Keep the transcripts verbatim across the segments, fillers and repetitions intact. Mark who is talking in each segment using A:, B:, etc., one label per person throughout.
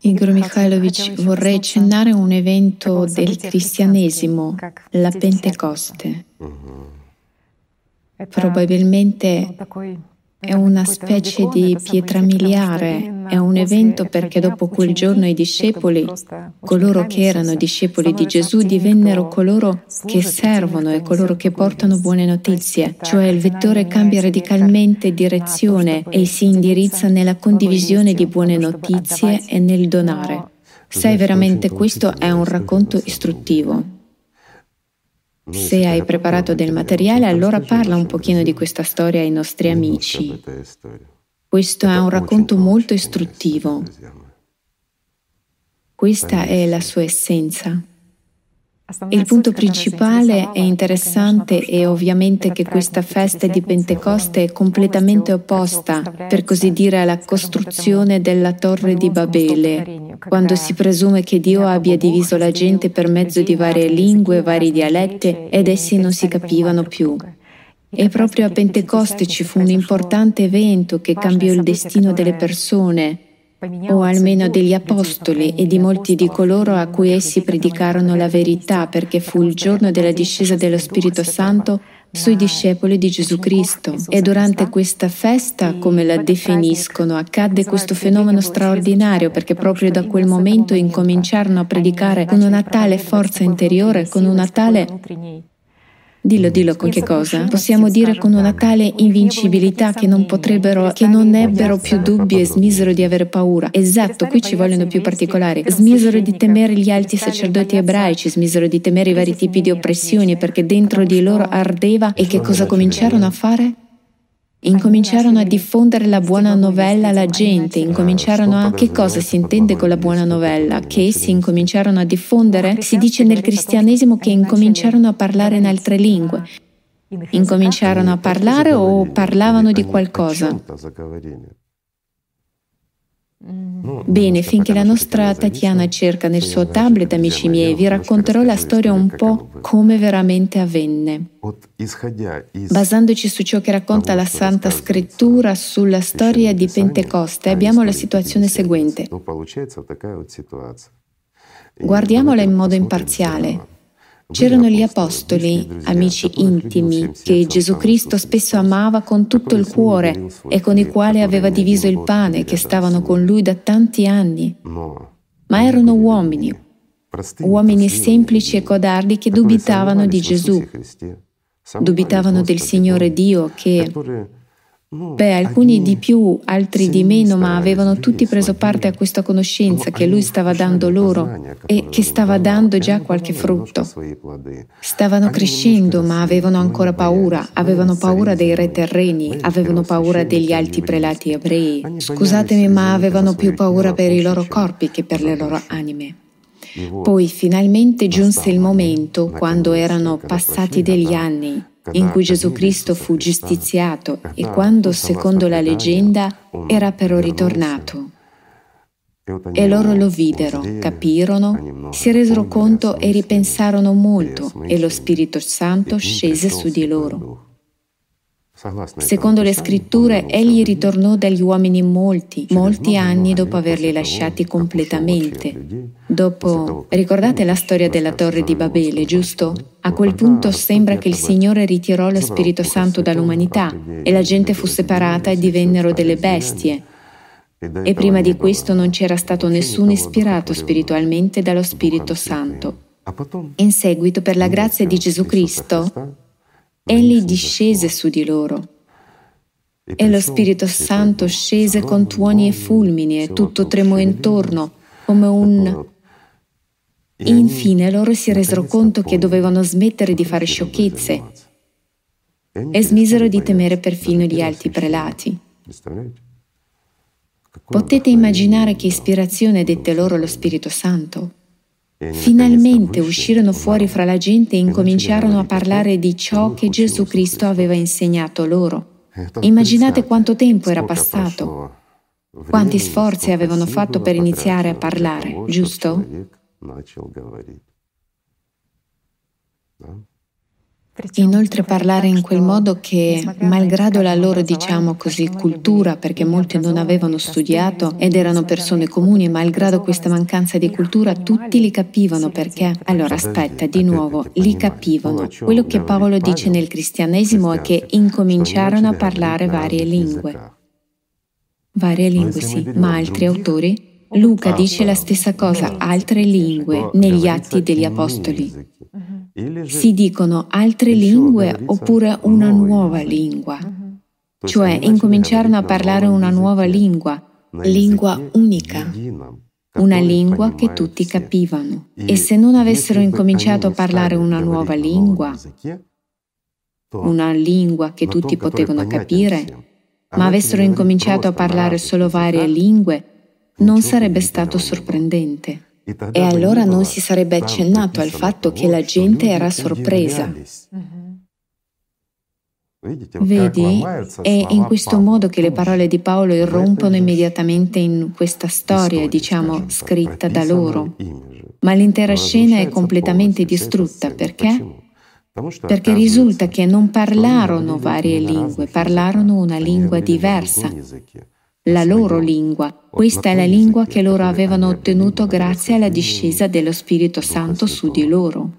A: Igor Mikhailovich, vorrei accennare un evento del cristianesimo, la Pentecoste. Probabilmente è una specie di pietra miliare, è un evento perché dopo quel giorno i discepoli, coloro che erano discepoli di Gesù, divennero coloro che servono e coloro che portano buone notizie, cioè il vettore cambia radicalmente direzione e si indirizza nella condivisione di buone notizie e nel donare. Sai, veramente questo è un racconto istruttivo. Se hai preparato del materiale, allora parla un pochino di questa storia ai nostri amici. Questo è un racconto molto istruttivo. Questa è la sua essenza. Il punto principale è interessante e ovviamente che questa festa di Pentecoste è completamente opposta, per così dire, alla costruzione della Torre di Babele, quando si presume che Dio abbia diviso la gente per mezzo di varie lingue, vari dialetti ed essi non si capivano più. E proprio a Pentecoste ci fu un importante evento che cambiò il destino delle persone, o almeno degli apostoli e di molti di coloro a cui essi predicarono la verità, perché fu il giorno della discesa dello Spirito Santo sui discepoli di Gesù Cristo. E durante questa festa, come la definiscono, accadde questo fenomeno straordinario, perché proprio da quel momento incominciarono a predicare con una tale forza interiore, con una tale... Dillo, dillo con che cosa? Possiamo dire con una tale invincibilità che non potrebbero, che non ebbero più dubbi e smisero di avere paura. Esatto, qui ci vogliono più particolari. Smisero di temere gli alti sacerdoti ebraici, smisero di temere i vari tipi di oppressioni, perché dentro di loro ardeva. E che cosa cominciarono a fare? Incominciarono a diffondere la buona novella alla gente, incominciarono a... Che cosa si intende con la buona novella? Che essi incominciarono a diffondere? Si dice nel cristianesimo che incominciarono a parlare in altre lingue. Incominciarono a parlare o parlavano di qualcosa? Bene, finché la nostra Tatiana cerca nel suo tablet, amici miei, vi racconterò la storia un po' come veramente avvenne. Basandoci su ciò che racconta la Santa Scrittura sulla storia di Pentecoste, abbiamo la situazione seguente. Guardiamola in modo imparziale. C'erano gli apostoli, amici intimi, che Gesù Cristo spesso amava con tutto il cuore e con i quali aveva diviso il pane, che stavano con lui da tanti anni. Ma erano uomini, uomini semplici e codardi che dubitavano di Gesù, dubitavano del Signore Dio che... Beh, alcuni di più, altri di meno, ma avevano tutti preso parte a questa conoscenza che Lui stava dando loro e che stava dando già qualche frutto. Stavano crescendo, ma avevano ancora paura, avevano paura dei re terreni, avevano paura degli alti prelati ebrei. Scusatemi, ma avevano più paura per i loro corpi che per le loro anime. Poi finalmente giunse il momento, quando erano passati degli anni, in cui Gesù Cristo fu giustiziato e quando, secondo la leggenda, era però ritornato. E loro lo videro, capirono, si resero conto e ripensarono molto, e lo Spirito Santo scese su di loro. Secondo le scritture, egli ritornò dagli uomini molti, molti anni dopo averli lasciati completamente. Dopo, ricordate la storia della Torre di Babele, giusto? A quel punto sembra che il Signore ritirò lo Spirito Santo dall'umanità e la gente fu separata e divennero delle bestie. E prima di questo non c'era stato nessuno ispirato spiritualmente dallo Spirito Santo. In seguito, per la grazia di Gesù Cristo, egli discese su di loro. E lo Spirito Santo scese con tuoni e fulmini e tutto tremò intorno come un... Infine loro si resero conto che dovevano smettere di fare sciocchezze e smisero di temere perfino gli alti prelati. Potete immaginare che ispirazione dette loro lo Spirito Santo? Finalmente uscirono fuori fra la gente e incominciarono a parlare di ciò che Gesù Cristo aveva insegnato loro. Immaginate quanto tempo era passato, quanti sforzi avevano fatto per iniziare a parlare, giusto? Inoltre parlare in quel modo che, malgrado la loro, diciamo così, cultura, perché molti non avevano studiato ed erano persone comuni, malgrado questa mancanza di cultura, tutti li capivano perché? Allora aspetta, di nuovo, li capivano. Quello che Paolo dice nel cristianesimo è che incominciarono a parlare varie lingue. Varie lingue, sì, ma altri autori? Luca dice la stessa cosa, altre lingue, negli Atti degli Apostoli. Si dicono altre lingue oppure una nuova lingua. Cioè incominciarono a parlare una nuova lingua, lingua unica, una lingua che tutti capivano. E se non avessero incominciato a parlare una nuova lingua, una lingua che tutti potevano capire, ma avessero incominciato a parlare solo varie lingue, non sarebbe stato sorprendente. E allora non si sarebbe accennato al fatto che la gente era sorpresa. Vedi? È in questo modo che le parole di Paolo irrompono immediatamente in questa storia, diciamo, scritta da loro. Ma l'intera scena è completamente distrutta. Perché? Perché risulta che non parlarono varie lingue, parlarono una lingua diversa. La loro lingua. Questa è la lingua che loro avevano ottenuto grazie alla discesa dello Spirito Santo su di loro.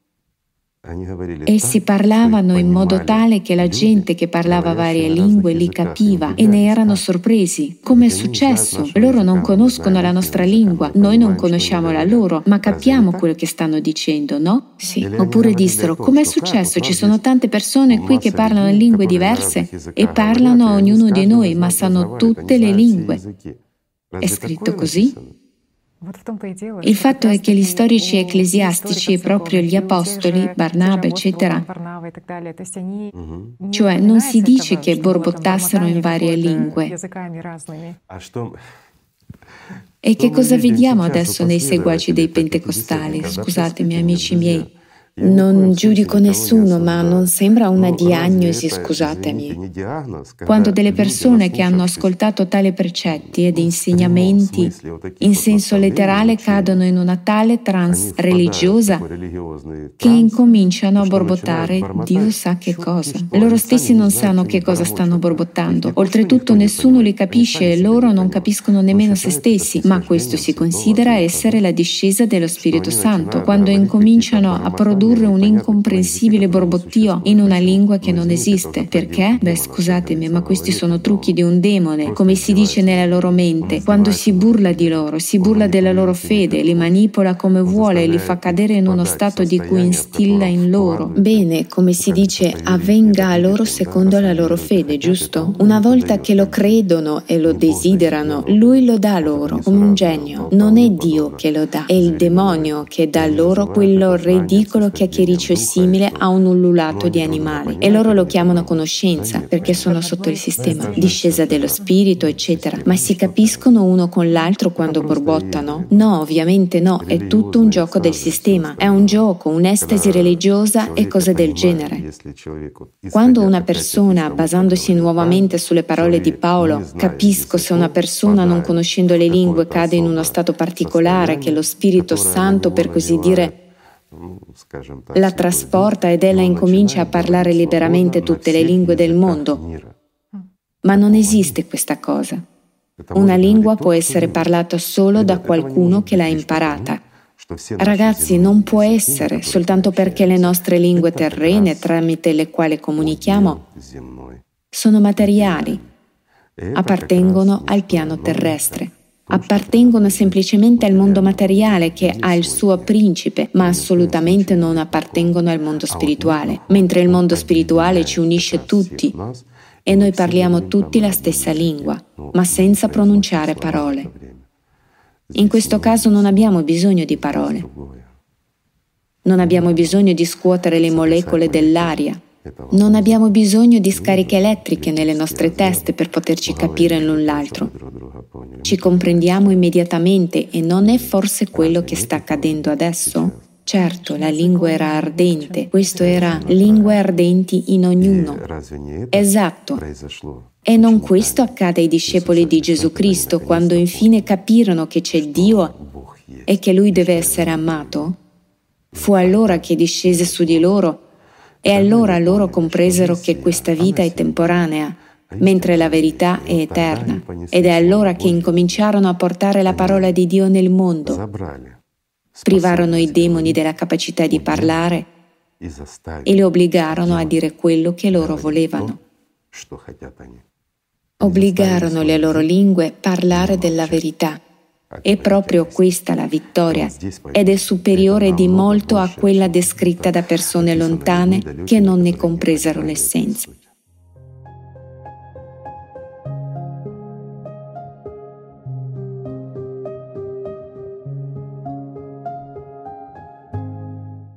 A: Essi parlavano in modo tale che la gente che parlava varie lingue li capiva e ne erano sorpresi. Come è successo? Loro non conoscono la nostra lingua, noi non conosciamo la loro, ma capiamo quello che stanno dicendo, no? Sì. Oppure dissero, come è successo? Ci sono tante persone qui che parlano lingue diverse e parlano a ognuno di noi, ma sanno tutte le lingue. È scritto così? Il fatto è che gli storici ecclesiastici, proprio gli apostoli, Barnaba, eccetera, cioè non si dice che borbottassero in varie lingue. E che cosa vediamo adesso nei seguaci dei pentecostali? Scusatemi, amici miei. Non giudico nessuno, ma non sembra una diagnosi, scusatemi. Quando delle persone che hanno ascoltato tali precetti ed insegnamenti in senso letterale cadono in una tale trance religiosa che incominciano a borbottare Dio sa che cosa. Loro stessi non sanno che cosa stanno borbottando. Oltretutto nessuno li capisce e loro non capiscono nemmeno se stessi, ma questo si considera essere la discesa dello Spirito Santo, quando incominciano a produrre un incomprensibile borbottio in una lingua che non esiste. Perché? Beh, scusatemi, ma questi sono trucchi di un demone, come si dice nella loro mente. Quando si burla di loro, si burla della loro fede, li manipola come vuole e li fa cadere in uno stato di cui instilla in loro. Bene, come si dice, avvenga a loro secondo la loro fede, giusto? Una volta che lo credono e lo desiderano, lui lo dà loro come un genio. Non è Dio che lo dà, è il demonio che dà loro quello ridicolo chiacchiericcio simile a un ululato di animali, e loro lo chiamano conoscenza perché sono sotto il sistema, discesa dello spirito, eccetera. Ma si capiscono uno con l'altro quando borbottano? No, ovviamente no, è tutto un gioco del sistema, è un gioco, un'estasi religiosa e cose del genere. Quando una persona, basandosi nuovamente sulle parole di Paolo, capisco se una persona non conoscendo le lingue cade in uno stato particolare che lo Spirito Santo, per così dire, la trasporta ed ella incomincia a parlare liberamente tutte le lingue del mondo. Ma non esiste questa cosa. Una lingua può essere parlata solo da qualcuno che l'ha imparata. Ragazzi, non può essere soltanto perché le nostre lingue terrene, tramite le quali comunichiamo, sono materiali, appartengono al piano terrestre. Appartengono semplicemente al mondo materiale che ha il suo principe, ma assolutamente non appartengono al mondo spirituale, mentre il mondo spirituale ci unisce tutti e noi parliamo tutti la stessa lingua, ma senza pronunciare parole. In questo caso non abbiamo bisogno di parole. Non abbiamo bisogno di scuotere le molecole dell'aria. Non abbiamo bisogno di scariche elettriche nelle nostre teste per poterci capire l'un l'altro. Ci comprendiamo immediatamente e non è forse quello che sta accadendo adesso? Certo, la lingua era ardente, questo era lingue ardenti in ognuno. Esatto. E non questo accade ai discepoli di Gesù Cristo quando infine capirono che c'è Dio e che Lui deve essere amato? Fu allora che discese su di loro E allora loro compresero che questa vita è temporanea, mentre la verità è eterna, ed è allora che incominciarono a portare la parola di Dio nel mondo. Privarono i demoni della capacità di parlare e li obbligarono a dire quello che loro volevano. Obbligarono le loro lingue a parlare della verità. È proprio questa la vittoria, ed è superiore di molto a quella descritta da persone lontane che non ne compresero l'essenza.